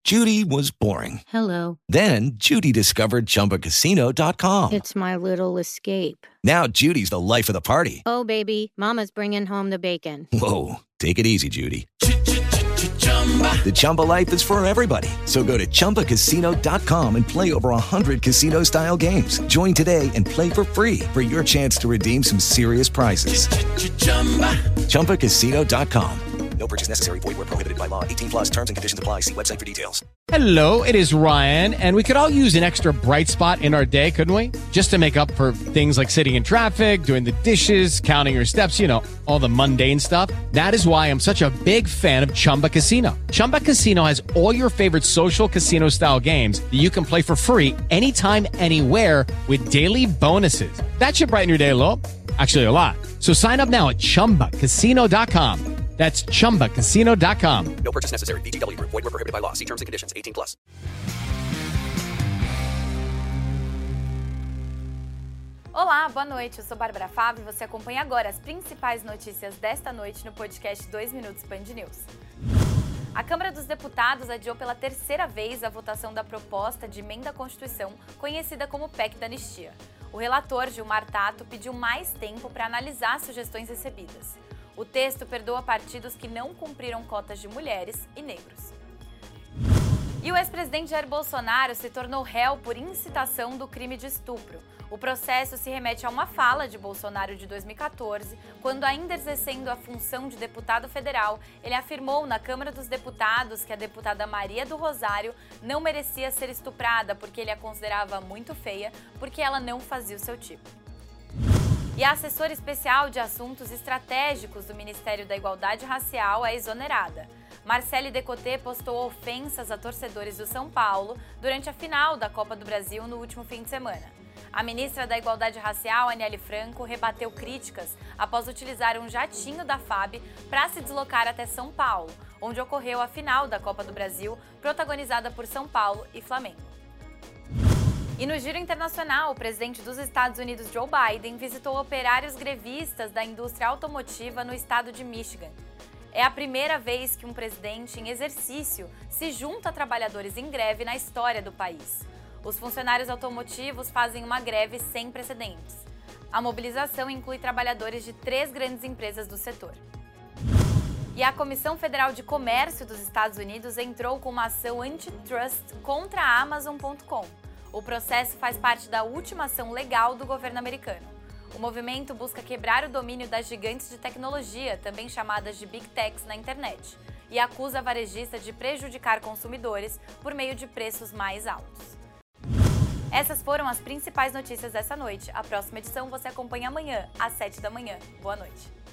Judy was boring. Hello. Then Judy discovered ChumbaCasino.com. It's my little escape. Now Judy's the life of the party. Oh, baby, mama's bringing home the bacon. Whoa, take it easy, Judy. The Chumba life is for everybody. So go to ChumbaCasino.com and play over 100 casino-style games. Join today and play for free for your chance to redeem some serious prizes. ChumbaCasino.com. No purchase necessary. Void where prohibited by law. 18 plus terms and conditions apply. See website for details. Hello, it is Ryan, and we could all use an extra bright spot in our day, couldn't we? Just to make up for things like sitting in traffic, doing the dishes, counting your steps, you know, all the mundane stuff. That is why I'm such a big fan of Chumba Casino. Chumba Casino has all your favorite social casino-style games that you can play for free anytime, anywhere with daily bonuses. That should brighten your day a little. Actually, a lot. So sign up now at ChumbaCasino.com. That's ChumbaCasino.com. No purchase necessary. VGW Group. Void where prohibited by law. See terms and conditions. 18 plus. Olá, boa noite. Eu sou Bárbara Fábio e você acompanha agora as principais notícias desta noite no podcast 2 Minutos Band News. A Câmara dos Deputados adiou pela terceira vez a votação da proposta de emenda à Constituição, conhecida como PEC da Anistia. O relator, Gilmar Tato, pediu mais tempo para analisar as sugestões recebidas. O texto perdoa partidos que não cumpriram cotas de mulheres e negros. E o ex-presidente Jair Bolsonaro se tornou réu por incitação do crime de estupro. O processo se remete a uma fala de Bolsonaro de 2014, quando, ainda exercendo a função de deputado federal, ele afirmou na Câmara dos Deputados que a deputada Maria do Rosário não merecia ser estuprada porque ele a considerava muito feia, porque ela não fazia o seu tipo. E a assessora especial de assuntos estratégicos do Ministério da Igualdade Racial é exonerada. Marcele Decoté postou ofensas a torcedores do São Paulo durante a final da Copa do Brasil no último fim de semana. A ministra da Igualdade Racial, Aniele Franco, rebateu críticas após utilizar um jatinho da FAB para se deslocar até São Paulo, onde ocorreu a final da Copa do Brasil, protagonizada por São Paulo e Flamengo. E no giro internacional, o presidente dos Estados Unidos, Joe Biden, visitou operários grevistas da indústria automotiva no estado de Michigan. É a primeira vez que um presidente em exercício se junta a trabalhadores em greve na história do país. Os funcionários automotivos fazem uma greve sem precedentes. A mobilização inclui trabalhadores de 3 grandes empresas do setor. E a Comissão Federal de Comércio dos Estados Unidos entrou com uma ação antitrust contra a Amazon.com. O processo faz parte da última ação legal do governo americano. O movimento busca quebrar o domínio das gigantes de tecnologia, também chamadas de Big Techs, na internet, e acusa a varejista de prejudicar consumidores por meio de preços mais altos. Essas foram as principais notícias dessa noite. A próxima edição você acompanha amanhã, às 7 da manhã. Boa noite.